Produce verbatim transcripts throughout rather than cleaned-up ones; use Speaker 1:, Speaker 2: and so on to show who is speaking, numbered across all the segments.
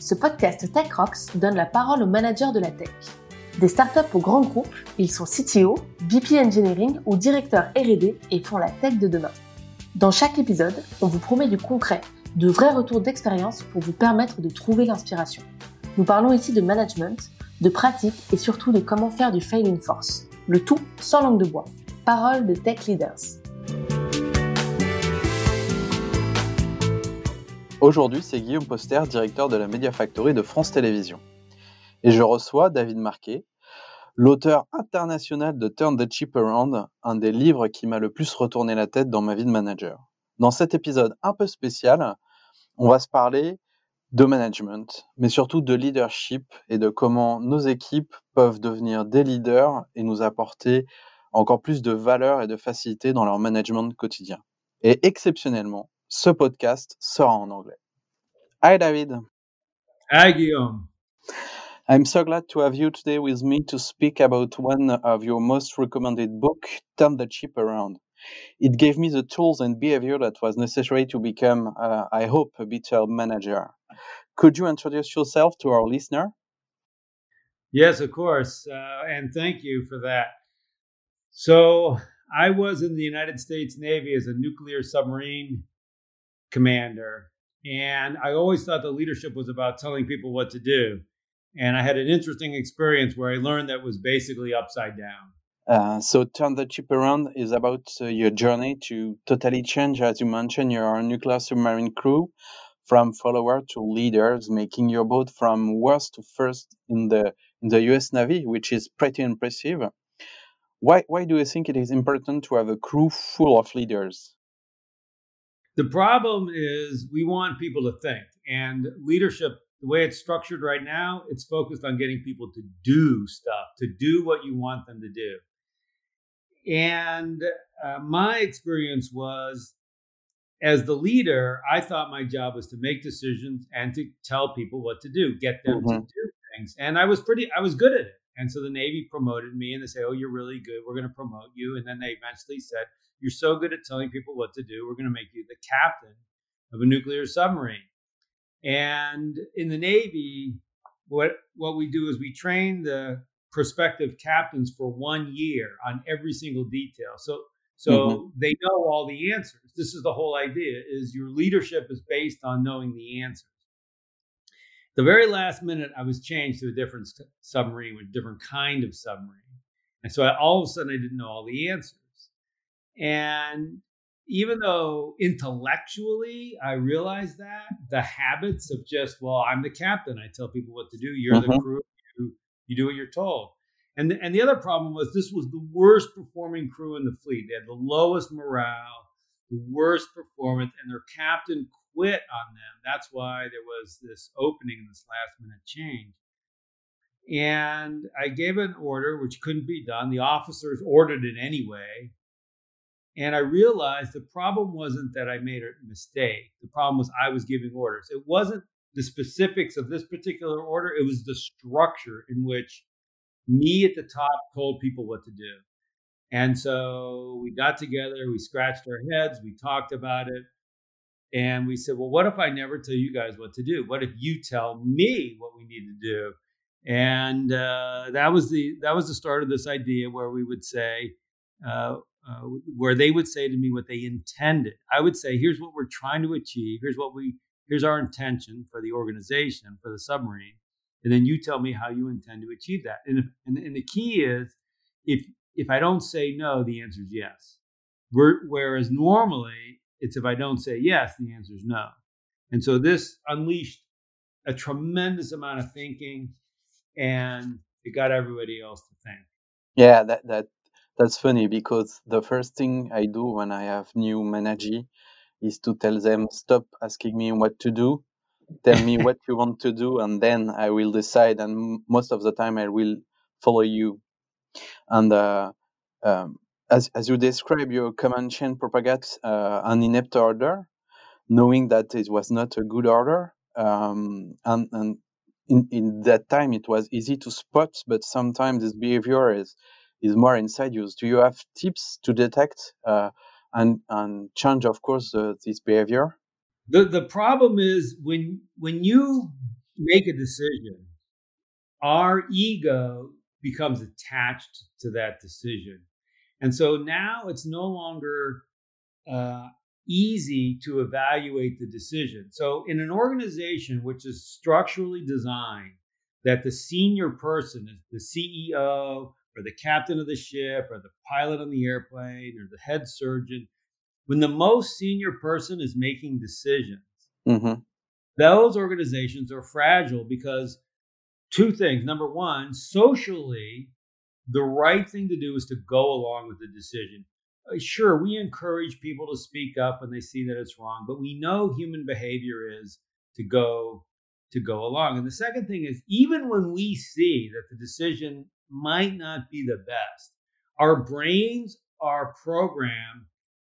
Speaker 1: Ce podcast Tech Rocks donne la parole aux managers de la tech. Des startups aux grands groupes, ils sont C T O, V P Engineering ou directeurs R et D et font la tech de demain. Dans chaque épisode, on vous promet du concret, de vrais retours d'expérience pour vous permettre de trouver l'inspiration. Nous parlons ici de management, de pratique et surtout de comment faire du fail une force. Le tout sans langue de bois. Parole de tech leaders.
Speaker 2: Aujourd'hui, c'est Guillaume Poster, directeur de la Media Factory de France Télévisions. Et je reçois David Marquet, l'auteur international de Turn the Ship Around, un des livres qui m'a le plus retourné la tête dans ma vie de manager. Dans cet épisode un peu spécial, on va se parler de management, mais surtout de leadership et de comment nos équipes peuvent devenir des leaders et nous apporter encore plus de valeur et de facilité dans leur management quotidien. Et exceptionnellement, ce podcast sera en anglais. Hi David.
Speaker 3: Hi Guillaume.
Speaker 2: I'm so glad to have you today with me to speak about one of your most recommended books, Turn the Ship Around. It gave me the tools and behavior that was necessary to become, uh, I hope, a better manager. Could you introduce yourself to our listener?
Speaker 3: Yes, of course. Uh, and thank you for that. So I was in the United States Navy as a nuclear submarine commander. And I always thought the leadership was about telling people what to do. And I had an interesting experience where I learned that was basically upside down.
Speaker 2: Uh, so Turn the Ship Around is about uh, your journey to totally change, as you mentioned, your nuclear submarine crew from follower to leaders, making your boat from worst to first in the in the U S Navy, which is pretty impressive. Why why do you think it is important to have a crew full of leaders?
Speaker 3: The problem is we want people to think, and leadership, the way it's structured right now, it's focused on getting people to do stuff, to do what you want them to do. And uh, my experience was, as the leader, I thought my job was to make decisions and to tell people what to do, get them mm-hmm. to do things. And I was pretty, I was good at it. And so the Navy promoted me and they say, oh, you're really good. We're going to promote you. And then they eventually said, you're so good at telling people what to do. We're going to make you the captain of a nuclear submarine. And in the Navy, what, what we do is we train the prospective captains for one year on every single detail. So, so mm-hmm. they know all the answers. This is the whole idea, is your leadership is based on knowing the answers. The very last minute, I was changed to a different st- submarine, with a different kind of submarine. And so I, all of a sudden, I didn't know all the answers. And even though intellectually I realized that, the habits of just, well, I'm the captain, I tell people what to do, you're mm-hmm. the crew, you, you do what you're told. And the, and the other problem was this was the worst performing crew in the fleet. They had the lowest morale, the worst performance, and their captain quit on them. That's why there was this opening, this last minute change. And I gave an order which couldn't be done. The officers ordered it anyway. And I realized the problem wasn't that I made a mistake. The problem was I was giving orders. It wasn't the specifics of this particular order. It was the structure in which me at the top told people what to do. And so we got together, we scratched our heads, we talked about it. And we said, well, what if I never tell you guys what to do? What if you tell me what we need to do? And uh, that was the that was the start of this idea where we would say, uh, uh, where they would say to me what they intended. I would say, here's what we're trying to achieve. Here's what we here's our intention for the organization, for the submarine. And then you tell me how you intend to achieve that. And, if, and, and the key is, if if I don't say no, the answer is yes. We're, whereas normally, it's if I don't say yes, the answer is no. And so this unleashed a tremendous amount of thinking, and it got everybody else to think.
Speaker 2: Yeah, that that that's funny, because the first thing I do when I have new manager is to tell them, stop asking me what to do. Tell me what you want to do, and then I will decide. And most of the time, I will follow you. And uh, um, as as you describe, your command chain propagates uh, an inept order, knowing that it was not a good order. Um, and and in, in that time, it was easy to spot, but sometimes this behavior is is more inside you. Do you have tips to detect uh, and and change, of course, uh, this behavior?
Speaker 3: The the problem is when when you make a decision, our ego becomes attached to that decision. And so now it's no longer uh, easy to evaluate the decision. So in an organization which is structurally designed that the senior person is the C E O or the captain of the ship or the pilot on the airplane or the head surgeon, when the most senior person is making decisions,
Speaker 2: Mm-hmm.
Speaker 3: those organizations are fragile because two things. Number one, socially, the right thing to do is to go along with the decision. Uh, Sure, we encourage people to speak up when they see that it's wrong, but we know human behavior is to go to go along. And the second thing is, even when we see that the decision might not be the best, our brains are programmed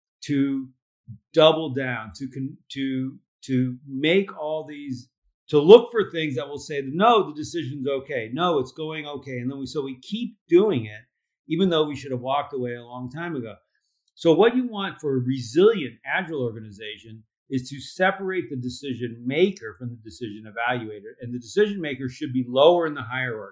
Speaker 3: to double down, to con- to to make all these, to look for things that will say, no, the decision's okay, no, it's going okay, and then we so we keep doing it, even though we should have walked away a long time ago. So what you want for a resilient, agile organization is to separate the decision maker from the decision evaluator, and the decision maker should be lower in the hierarchy.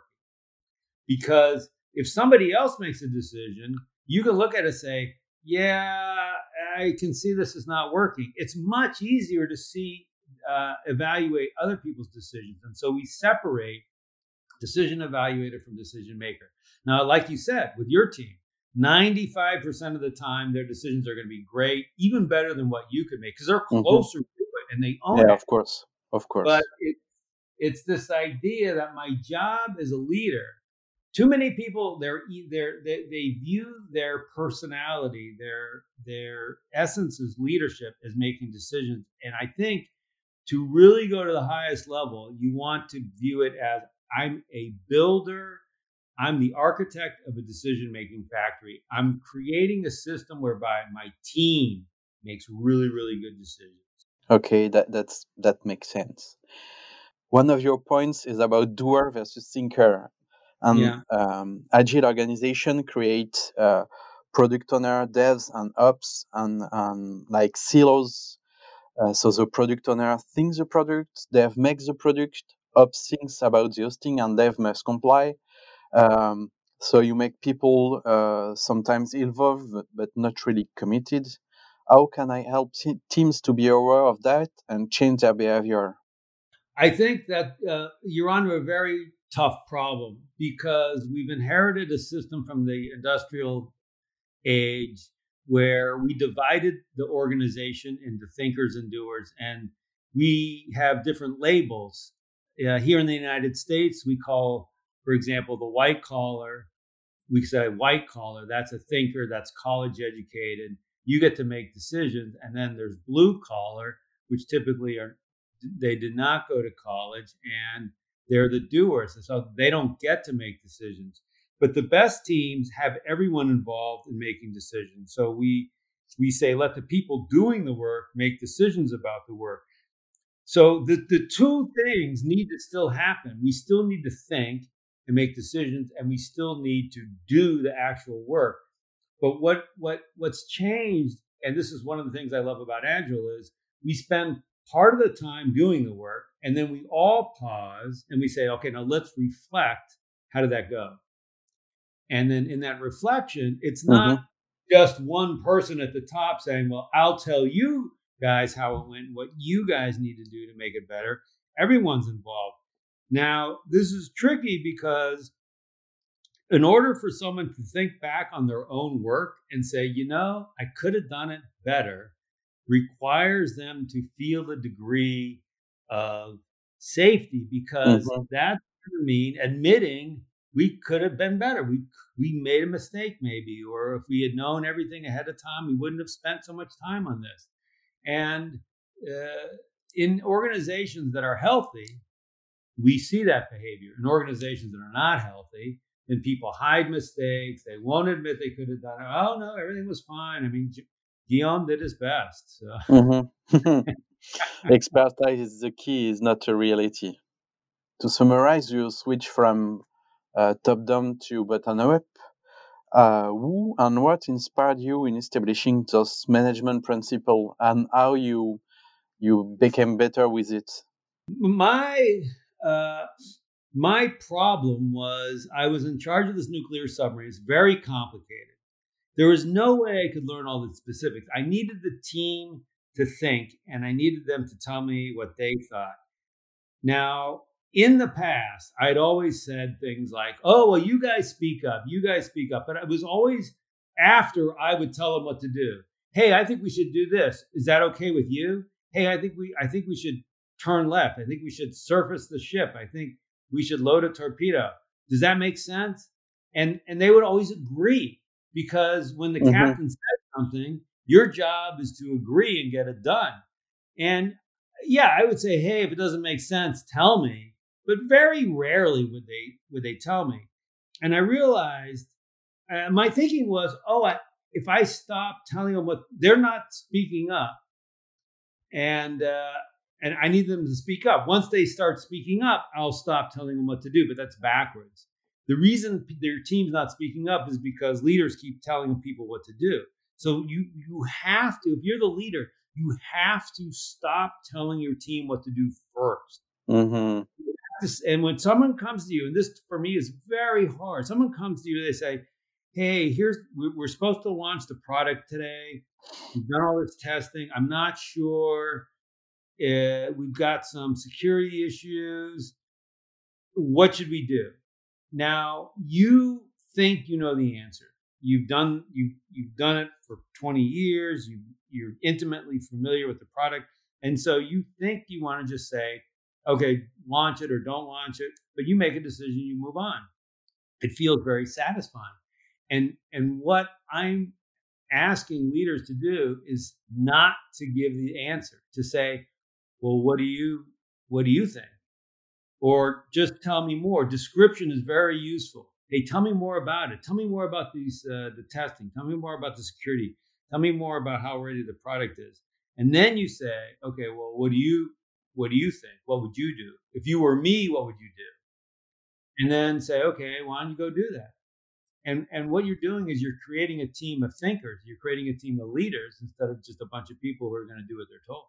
Speaker 3: Because if somebody else makes a decision, you can look at it and say, yeah, I can see this is not working. It's much easier to see, uh, evaluate other people's decisions. And so we separate decision evaluator from decision maker. Now, like you said, with your team, ninety-five percent of the time, their decisions are going to be great, even better than what you could make, because they're closer mm-hmm. to it and they own
Speaker 2: yeah,
Speaker 3: it.
Speaker 2: Of course, of course.
Speaker 3: But it, it's this idea that my job as a leader, too many people, they're, they're, they they view their personality, their their essence as leadership, as making decisions. And I think to really go to the highest level, you want to view it as, I'm a builder, I'm the architect of a decision-making factory. I'm creating a system whereby my team makes really, really good decisions.
Speaker 2: Okay, that that's that makes sense. One of your points is about doer versus thinker. And
Speaker 3: yeah.
Speaker 2: um, agile organization create uh, product owner, devs, and ops, and, and like silos. Uh, so the product owner thinks the product, dev makes the product, ops thinks about the hosting, and dev must comply. Um, so you make people uh, sometimes involved, but not really committed. How can I help t- teams to be aware of that and change their behavior?
Speaker 3: I think that uh, you're onto a very tough problem, because we've inherited a system from the industrial age where we divided the organization into thinkers and doers, and we have different labels. Uh, here in the United States, we call, for example, the white collar, we say white collar, that's a thinker, that's college educated, you get to make decisions. And then there's blue collar, which typically are, they did not go to college, and they're the doers. And so they don't get to make decisions. But the best teams have everyone involved in making decisions. So we we say, let the people doing the work make decisions about the work. So the, the two things need to still happen. We still need to think and make decisions, and we still need to do the actual work. But what what what's changed, and this is one of the things I love about Agile, is we spend part of the time doing the work, and then we all pause and we say, okay, now let's reflect. How did that go? And then in that reflection, it's not mm-hmm. just one person at the top saying, well, I'll tell you guys how it went, what you guys need to do to make it better. Everyone's involved. Now, this is tricky because in order for someone to think back on their own work and say, you know, I could have done it better, requires them to feel a degree of safety, because mm-hmm. that's going to mean admitting we could have been better. We we made a mistake maybe, or if we had known everything ahead of time, we wouldn't have spent so much time on this. And uh, in organizations that are healthy, we see that behavior. In organizations that are not healthy, then people hide mistakes. They won't admit they could have done it. Oh, no, everything was fine. I mean, Guillaume did his best. So.
Speaker 2: Mm-hmm. Expertise is the key, is not a reality. To summarize, you switch from uh, top-down to bottom-up. Uh, who and what inspired you in establishing those management principles, and how you you became better with it?
Speaker 3: My uh, my problem was I was in charge of this nuclear submarine. It's very complicated. There was no way I could learn all the specifics. I needed the team to think, and I needed them to tell me what they thought. Now, in the past, I'd always said things like, oh, well, you guys speak up. You guys speak up. But it was always after I would tell them what to do. Hey, I think we should do this. Is that okay with you? Hey, I think we I think we should turn left. I think we should surface the ship. I think we should load a torpedo. Does that make sense? And and they would always agree, because when the mm-hmm. captain said something, your job is to agree and get it done. And yeah, I would say, hey, if it doesn't make sense, tell me. But very rarely would they would they tell me. And I realized uh, my thinking was, oh, I, if I stop telling them what, they're not speaking up, and uh, and I need them to speak up. Once they start speaking up, I'll stop telling them what to do. But that's backwards. The reason their team's not speaking up is because leaders keep telling people what to do. So you you have to, if you're the leader, you have to stop telling your team what to do first.
Speaker 2: Mm-hmm.
Speaker 3: And when someone comes to you, and this for me is very hard, someone comes to you, they say, hey, here's, we're supposed to launch the product today. We've done all this testing. I'm not sure. Uh, we've got some security issues. What should we do? Now, you think you know the answer. You've done you you've done it for twenty years. You you're intimately familiar with the product, and so you think you want to just say, okay, launch it or don't launch it, but you make a decision, you move on. It feels very satisfying. And and what I'm asking leaders to do is not to give the answer, to say, well, what do you what do you think? Or just tell me more. Description is very useful. Hey, tell me more about it. Tell me more about these uh, the testing. Tell me more about the security. Tell me more about how ready the product is. And then you say, okay, well, what do you what do you think? What would you do? If you were me, what would you do? And then say, okay, why don't you go do that? And and what you're doing is you're creating a team of thinkers. You're creating a team of leaders instead of just a bunch of people who are going to do what they're told.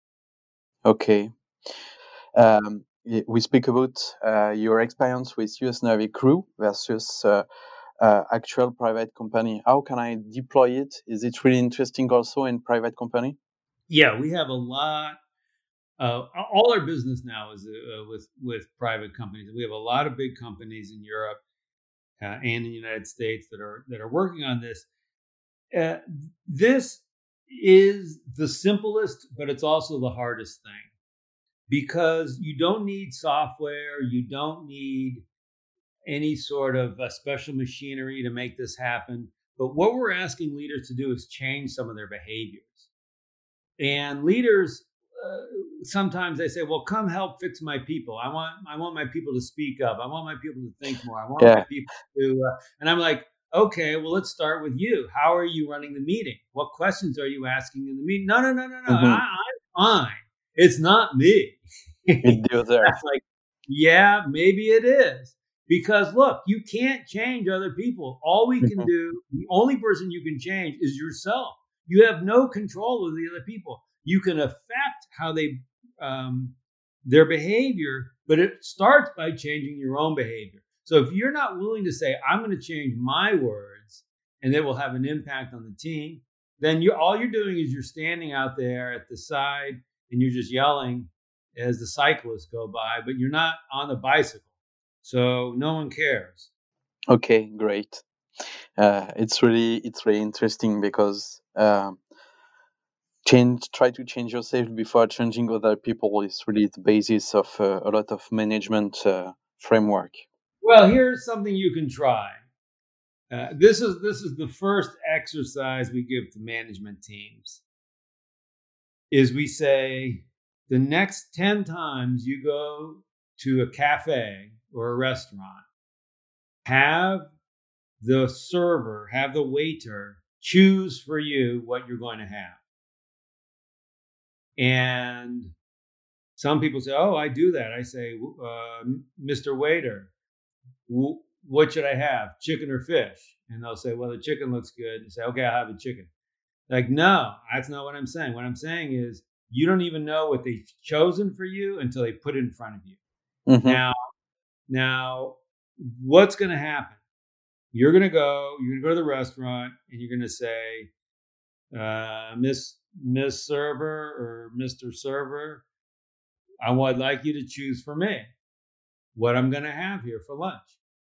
Speaker 2: Okay. Um, we speak about uh, your experience with U S Navy crew versus uh, uh, actual private company. How can I deploy it? Is it really interesting also in private company?
Speaker 3: Yeah, we have a lot. Uh, all our business now is uh, with with private companies. We have a lot of big companies in Europe uh, and in the United States that are that are working on this. Uh, this is the simplest, but it's also the hardest thing, because you don't need software, you don't need any sort of uh, special machinery to make this happen. But what we're asking leaders to do is change some of their behaviors. And leaders, uh, sometimes they say, well, come help fix my people. I want I want my people to speak up. I want my people to think more. I want yeah. my people to, uh, and I'm like, okay, well, let's start with you. How are you running the meeting? What questions are you asking in the meeting? No, no, no, no, no. Mm-hmm. I, I'm fine. It's not me.
Speaker 2: It's
Speaker 3: like, yeah, maybe it is. Because look, you can't change other people. All we can mm-hmm. do, the only person you can change is yourself. You have no control of the other people. You can affect how they, um, their behavior, but it starts by changing your own behavior. So if you're not willing to say, I'm going to change my words and they will have an impact on the team, then you're, all you're doing is you're standing out there at the side and you're just yelling as the cyclists go by, but you're not on the bicycle. So no one cares.
Speaker 2: Okay, great. Uh, it's really it's really interesting because um, change try to change yourself before changing other people is really the basis of uh, a lot of management uh, framework.
Speaker 3: Well, here's something you can try. Uh, this is this is the first exercise we give to management teams. Is we say the next ten times you go to a cafe or a restaurant, have the server, have the waiter choose for you what you're going to have. And some people say, oh, I do that. I say, uh, Mister Waiter, w- what should I have, chicken or fish? And they'll say, well, the chicken looks good. And say, okay, I'll have a chicken. Like, no, that's not what I'm saying. What I'm saying is you don't even know what they've chosen for you until they put it in front of you.
Speaker 2: Mm-hmm.
Speaker 3: Now, now, what's going to happen? You're going to go, you're going to go to the restaurant and you're going to say, uh, Miss Miss Server or Mister Server, I would like you to choose for me what I'm going to have here for lunch.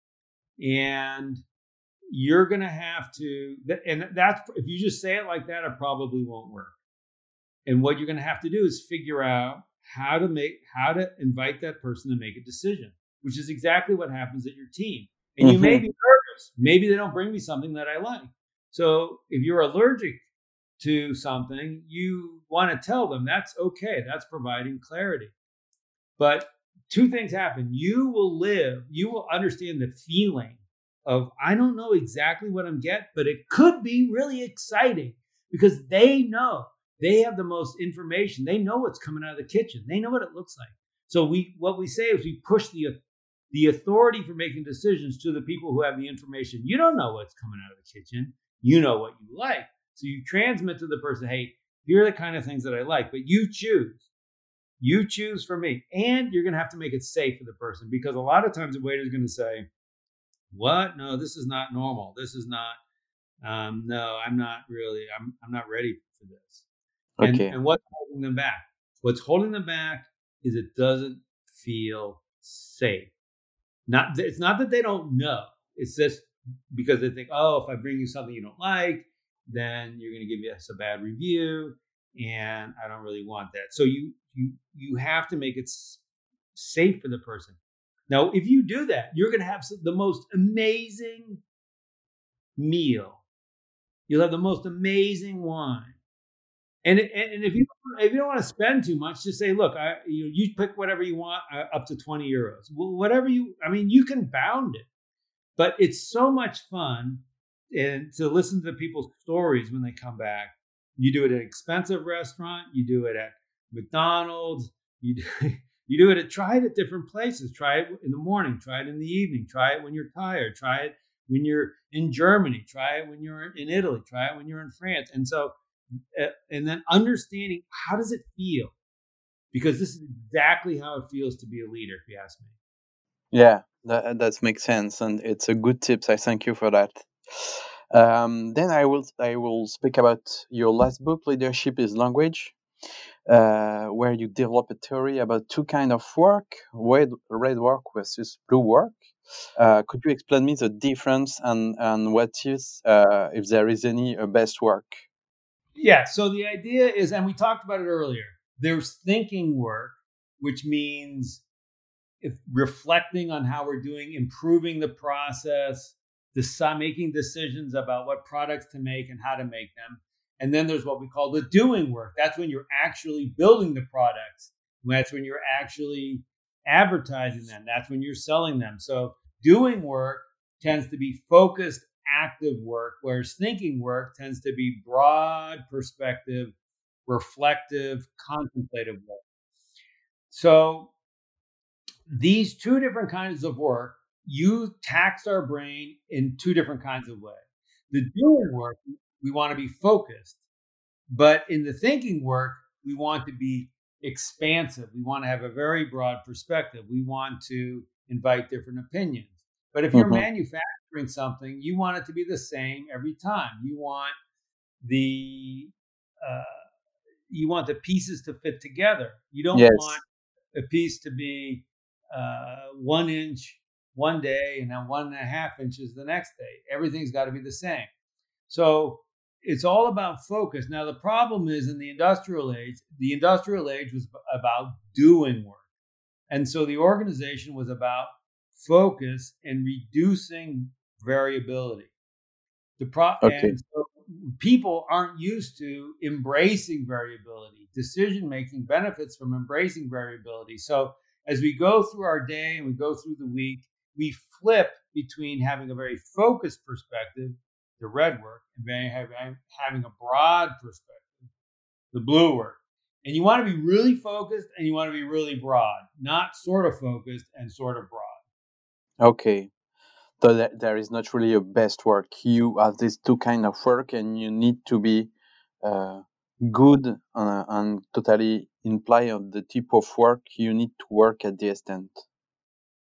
Speaker 3: And you're going to have to, and that's, if you just say it like that, it probably won't work. And what you're going to have to do is figure out how to make, how to invite that person to make a decision, which is exactly what happens at your team. And mm-hmm. you may be nervous. Maybe they don't bring me something that I like. So if you're allergic to something, you want to tell them that's okay. That's providing clarity. But two things happen. You will live, you will understand the feeling of, I don't know exactly what I'm getting, but it could be really exciting because they know. They have the most information. They know what's coming out of the kitchen. They know what it looks like. So we, what we say is we push the, the authority for making decisions to the people who have the information. You don't know what's coming out of the kitchen. You know what you like. So you transmit to the person, hey, here are the kind of things that I like, but you choose. You choose for me. And you're going to have to make it safe for the person because a lot of times the waiter is going to say, what? No, this is not normal. This is not, um, no, I'm not really, I'm, I'm not ready for this. And,
Speaker 2: okay.
Speaker 3: and what's holding them back? What's holding them back is it doesn't feel safe. Not, it's not that they don't know. It's just because they think, oh, if I bring you something you don't like, then you're going to give us a bad review, and I don't really want that. So you you you have to make it safe for the person. Now, if you do that, you're going to have the most amazing meal. You'll have the most amazing wine. And, and if you if you don't want to spend too much, just say, look, I you know, you pick whatever you want, uh, up to twenty euros. Well, whatever you, I mean, you can bound it, but it's so much fun, and to listen to people's stories when they come back. You do it at an expensive restaurant, you do it at McDonald's, you do, you do it at try it at different places. Try it in the morning, try it in the evening, try it when you're tired, try it when you're in Germany, try it when you're in Italy, try it when you're in France, and so. And then understanding how does it feel? Because this is exactly how it feels to be a leader, if you ask me.
Speaker 2: Yeah, that that makes sense, and it's a good tips. I thank you for that. Um, then I will I will speak about your last book, Leadership is Language, uh, where you develop a theory about two kinds of work: red red work versus blue work. Uh, could you explain me the difference and and what is, uh, if there is any, a best work?
Speaker 3: Yeah, so the idea is, and we talked about it earlier, there's thinking work, which means if reflecting on how we're doing, improving the process, decide, making decisions about what products to make and how to make them. And then there's what we call the doing work. That's when you're actually building the products. That's when you're actually advertising them. That's when you're selling them. So doing work tends to be focused, active work, whereas thinking work tends to be broad perspective, reflective, contemplative work. So these two different kinds of work, you tax our brain in two different kinds of ways. The doing work, we want to be focused, but in the thinking work, we want to be expansive. We want to have a very broad perspective. We want to invite different opinions. But if you're mm-hmm. manufacturing something, you want it to be the same every time. You want the uh, you want the pieces to fit together. You don't yes. want a piece to be uh, one inch one day and then one and a half inches the next day. Everything's got to be the same. So it's all about focus. Now, the problem is in the industrial age, the industrial age was about doing work. And so the organization was about focus and reducing variability. The pro- okay. And so people aren't used to embracing variability. Decision-making benefits from embracing variability. So as we go through our day and we go through the week, we flip between having a very focused perspective, the red work, and having a broad perspective, the blue work. And you want to be really focused and you want to be really broad, not sort of focused and sort of broad.
Speaker 2: Okay. So that there is not really a best work. You have these two kind of work and you need to be uh, good uh, and totally imply on the type of work you need to work at the extent.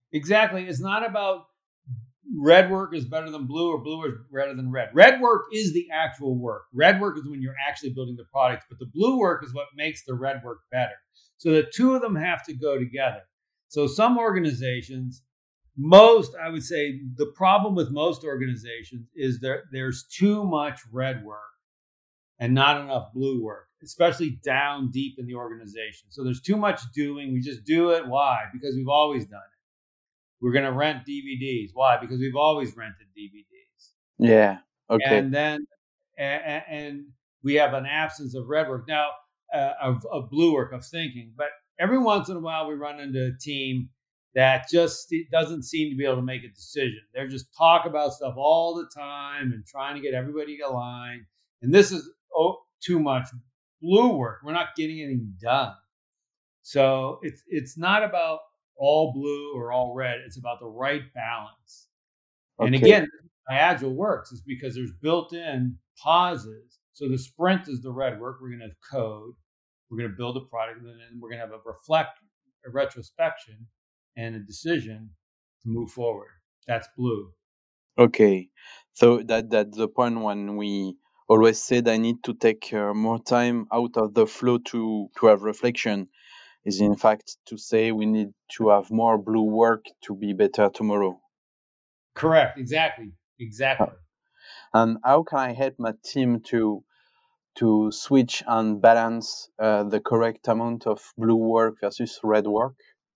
Speaker 3: Exactly. It's not about red work is better than blue or blue is better than red. Red work is the actual work. Red work is when you're actually building the product, but the blue work is what makes the red work better. So the two of them have to go together. So some organizations, most, I would say the problem with most organizations is there there's too much red work and not enough blue work, especially down deep in the organization. So there's too much doing. We just do it. Why? Because we've always done it. We're going to rent D V Ds. Why? Because we've always rented D V Ds.
Speaker 2: Yeah. Okay.
Speaker 3: And then, and, and we have an absence of red work now, uh, of, of blue work, of thinking. But every once in a while, we run into a team that just doesn't seem to be able to make a decision. They're just talk about stuff all the time and trying to get everybody aligned. And this is oh, too much blue work. We're not getting anything done. So it's it's not about all blue or all red. It's about the right balance. Okay. And again, how Agile works is because there's built-in pauses. So the sprint is the red work. We're going to code. We're going to build a product, and then we're going to have a reflect, a retrospection, and a decision to move forward. That's blue.
Speaker 2: Okay. So that that's the point when we always said I need to take uh, more time out of the flow to to have reflection. Is in fact to say we need to have more blue work to be better tomorrow.
Speaker 3: Correct. Exactly. Exactly.
Speaker 2: And how can I help my team to to switch and balance uh, the correct amount of blue work versus red work?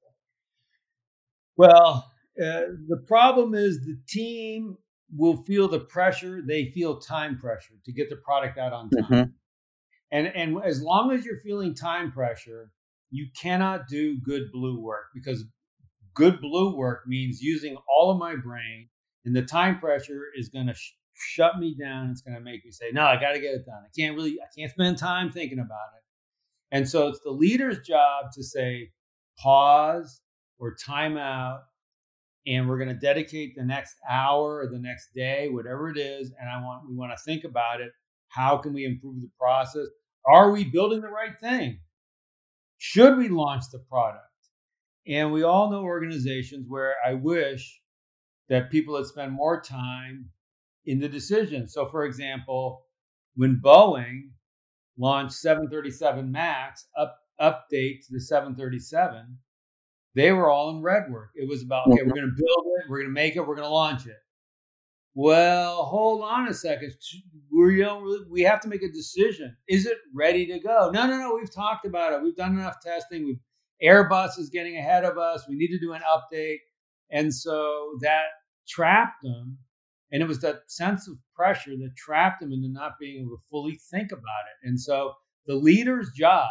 Speaker 3: Well, uh, the problem is the team will feel the pressure. They feel time pressure to get the product out on time. Mm-hmm. And and as long as you're feeling time pressure, you cannot do good blue work, because good blue work means using all of my brain, and the time pressure is going to sh- shut me down. It's going to make me say, no, I got to get it done. I can't really, I can't spend time thinking about it. And so it's the leader's job to say, pause or time out, and we're going to dedicate the next hour or the next day, whatever it is. And I want, we want to think about it. How can we improve the process? Are we building the right thing? Should we launch the product? And we all know organizations where I wish that people would spend more time in the decision. So, for example, when Boeing launched seven thirty-seven MAX, up, update to the seven thirty-seven, they were all in red work. It was about, okay, we're going to build it, we're going to make it, we're going to launch it. Well, hold on a second. We don't really, we have to make a decision. Is it ready to go? No, no, no. We've talked about it. We've done enough testing. We've, Airbus is getting ahead of us. We need to do an update. And so that trapped them. And it was that sense of pressure that trapped them into not being able to fully think about it. And so the leader's job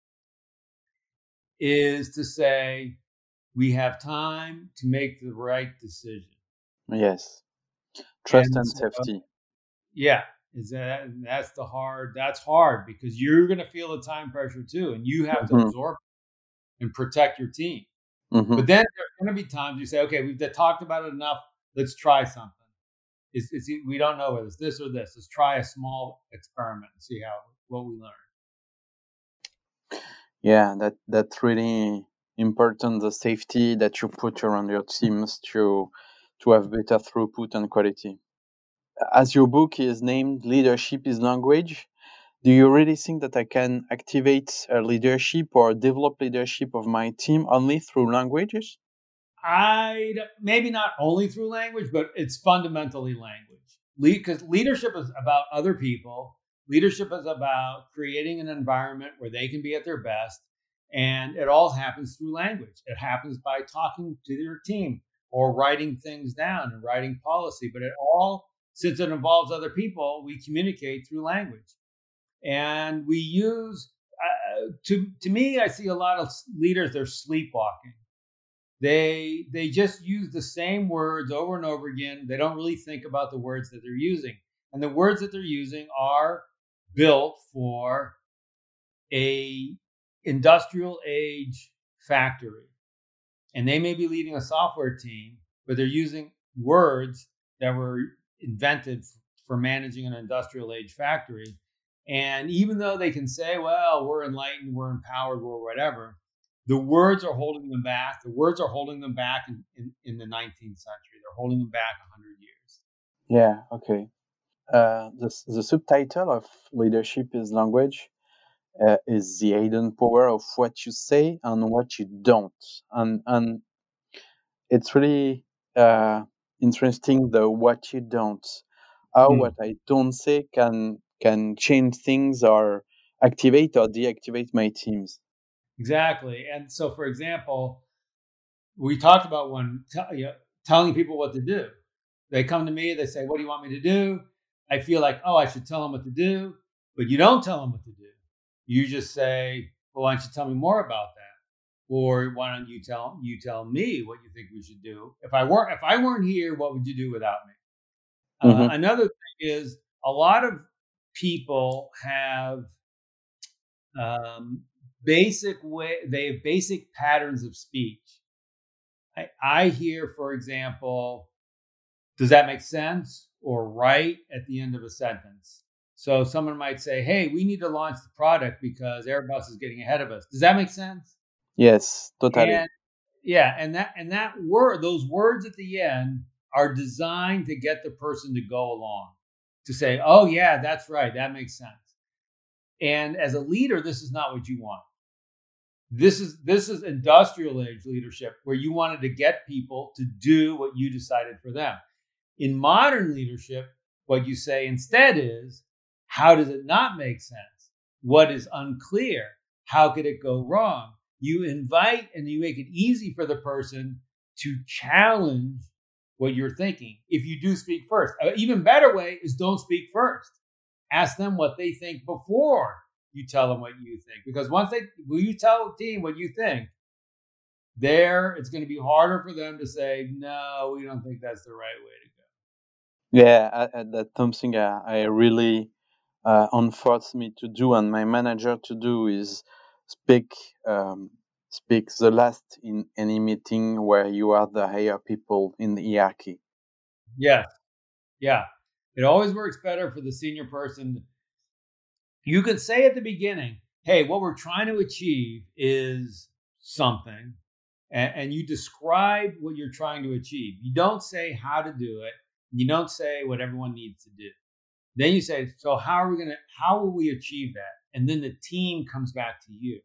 Speaker 3: is to say, we have time to make the right decision.
Speaker 2: Yes. Trust and, and
Speaker 3: so,
Speaker 2: safety.
Speaker 3: Yeah. Is that that's the hard, that's hard because you're going to feel the time pressure too. And you have mm-hmm. to absorb it and protect your team. Mm-hmm. But then there's going to be times you say, okay, we've talked about it enough. Let's try something. It's, it's, we don't know whether it's this or this. Let's try a small experiment and see how what we learn.
Speaker 2: Yeah, that that's really important. The safety that you put around your teams to to have better throughput and quality. As your book is named "Leadership is Language," do you really think that I can activate a leadership or develop leadership of my team only through languages?
Speaker 3: I maybe not only through language, but it's fundamentally language. Because Le- leadership is about other people. Leadership is about creating an environment where they can be at their best. And it all happens through language. It happens by talking to your team or writing things down and writing policy. But it all, since it involves other people, we communicate through language. And we use, uh, to, to me, I see a lot of leaders, they're sleepwalking. They they just use the same words over and over again. They don't really think about the words that they're using. And the words that they're using are built for a industrial age factory. And they may be leading a software team, but they're using words that were invented for managing an industrial age factory. And even though they can say, well, we're enlightened, we're empowered, we're whatever, the words are holding them back. The words are holding them back in, in, in the nineteenth century. They're holding them back one hundred years.
Speaker 2: Yeah, okay. Uh, the, the subtitle of Leadership is Language uh, is the hidden power of what you say and what you don't. And, and it's really uh, interesting, the what you don't. How
Speaker 3: Hmm.
Speaker 2: what I don't say can can change things or activate or deactivate my teams.
Speaker 3: Exactly. And so, for example, we talked about one t- you know, telling people what to do. They come to me, they say, "What do you want me to do?" I feel like, oh, I should tell them what to do, but you don't tell them what to do. You just say, "Well, why don't you tell me more about that?" Or why don't you tell you tell me what you think we should do? If I weren't if I weren't here, what would you do without me? Uh,
Speaker 2: Mm-hmm.
Speaker 3: another thing is a lot of people have um, basic way they have basic patterns of speech. I, I hear, for example, does that make sense? Or right at the end of a sentence. So someone might say, hey, we need to launch the product because Airbus is getting ahead of us. Does that make sense?
Speaker 2: Yes, totally.
Speaker 3: And yeah, and that and that word, those words at the end are designed to get the person to go along, to say, oh yeah, that's right, that makes sense. And as a leader, this is not what you want. This is this is industrial age leadership where you wanted to get people to do what you decided for them. In modern leadership, what you say instead is, how does it not make sense? What is unclear? How could it go wrong? You invite and you make it easy for the person to challenge what you're thinking. If you do speak first, an even better way is don't speak first. Ask them what they think before you tell them what you think. Because once they, when you tell the team what you think, there it's going to be harder for them to say, no, we don't think that's the right way to go.
Speaker 2: Yeah, I, I, that's something I, I really uh, enforce me to do, and my manager to do is speak um, speak the last in any meeting where you are the higher people in the hierarchy.
Speaker 3: Yeah, yeah. It always works better for the senior person. You can say at the beginning, hey, what we're trying to achieve is something, and, and you describe what you're trying to achieve. You don't say how to do it. You don't say what everyone needs to do. Then you say, so how are we going to, how will we achieve that? And then the team comes back to you.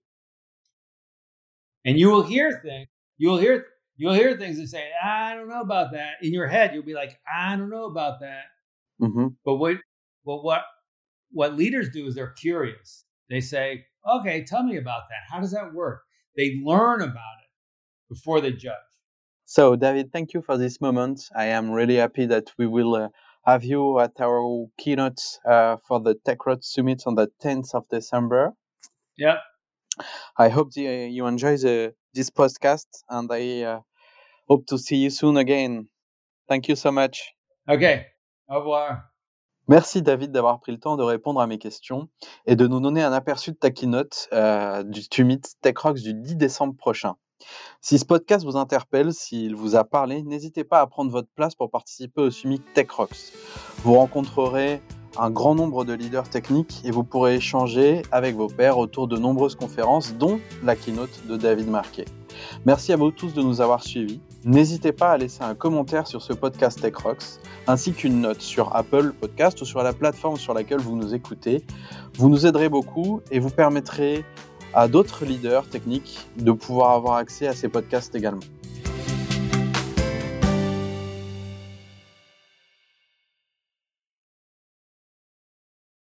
Speaker 3: And you will hear things, you will hear, you'll hear things that say, I don't know about that. In your head, you'll be like, I don't know about that.
Speaker 2: Mm-hmm.
Speaker 3: But what, well, what, what leaders do is they're curious. They say, okay, tell me about that. How does that work? They learn about it before they judge.
Speaker 2: So, David, thank you for this moment. I am really happy that we will uh, have you at our keynote uh, for the TechRoads Summit on the tenth of December.
Speaker 3: Yep.
Speaker 2: I hope the, uh, you enjoy the, this podcast, and I uh, hope to see you soon again. Thank you so much.
Speaker 3: Okay. Au revoir.
Speaker 2: Merci David d'avoir pris le temps de répondre à mes questions et de nous donner un aperçu de ta keynote euh, du Summit TechRoads du dix décembre prochain. Si ce podcast vous interpelle, s'il vous a parlé, n'hésitez pas à prendre votre place pour participer au Summit TechRoads. Vous rencontrerez un grand nombre de leaders techniques et vous pourrez échanger avec vos pairs autour de nombreuses conférences, dont la keynote de David Marquet. Merci à vous tous de nous avoir suivis. N'hésitez pas à laisser un commentaire sur ce podcast TechRoads, ainsi qu'une note sur Apple Podcast ou sur la plateforme sur laquelle vous nous écoutez. Vous nous aiderez beaucoup et vous permettrez à d'autres leaders techniques de pouvoir avoir accès à ces podcasts également.